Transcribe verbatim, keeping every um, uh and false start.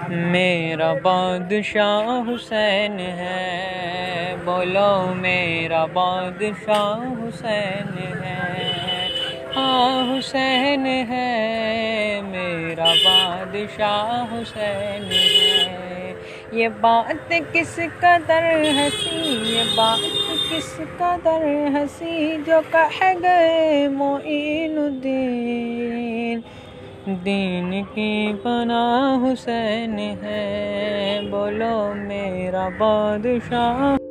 मेरा बादशाह हुसैन है, बोलो मेरा बादशाह हुसैन है। हाँ हुसैन है, मेरा बादशाह हुसैन है। ये बात किस कदर हंसी, ये बात किस कदर हंसी, जो कह गए मोइनुद्दीन। दीन की पनाह हुसैन है, बोलो मेरा बादशाह।